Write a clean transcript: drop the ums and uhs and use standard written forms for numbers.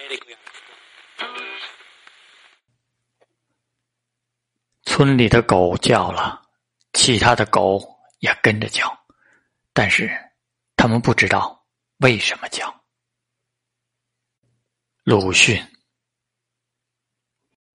村里的狗叫了，其他的狗也跟着叫，但是他们不知道为什么叫。鲁迅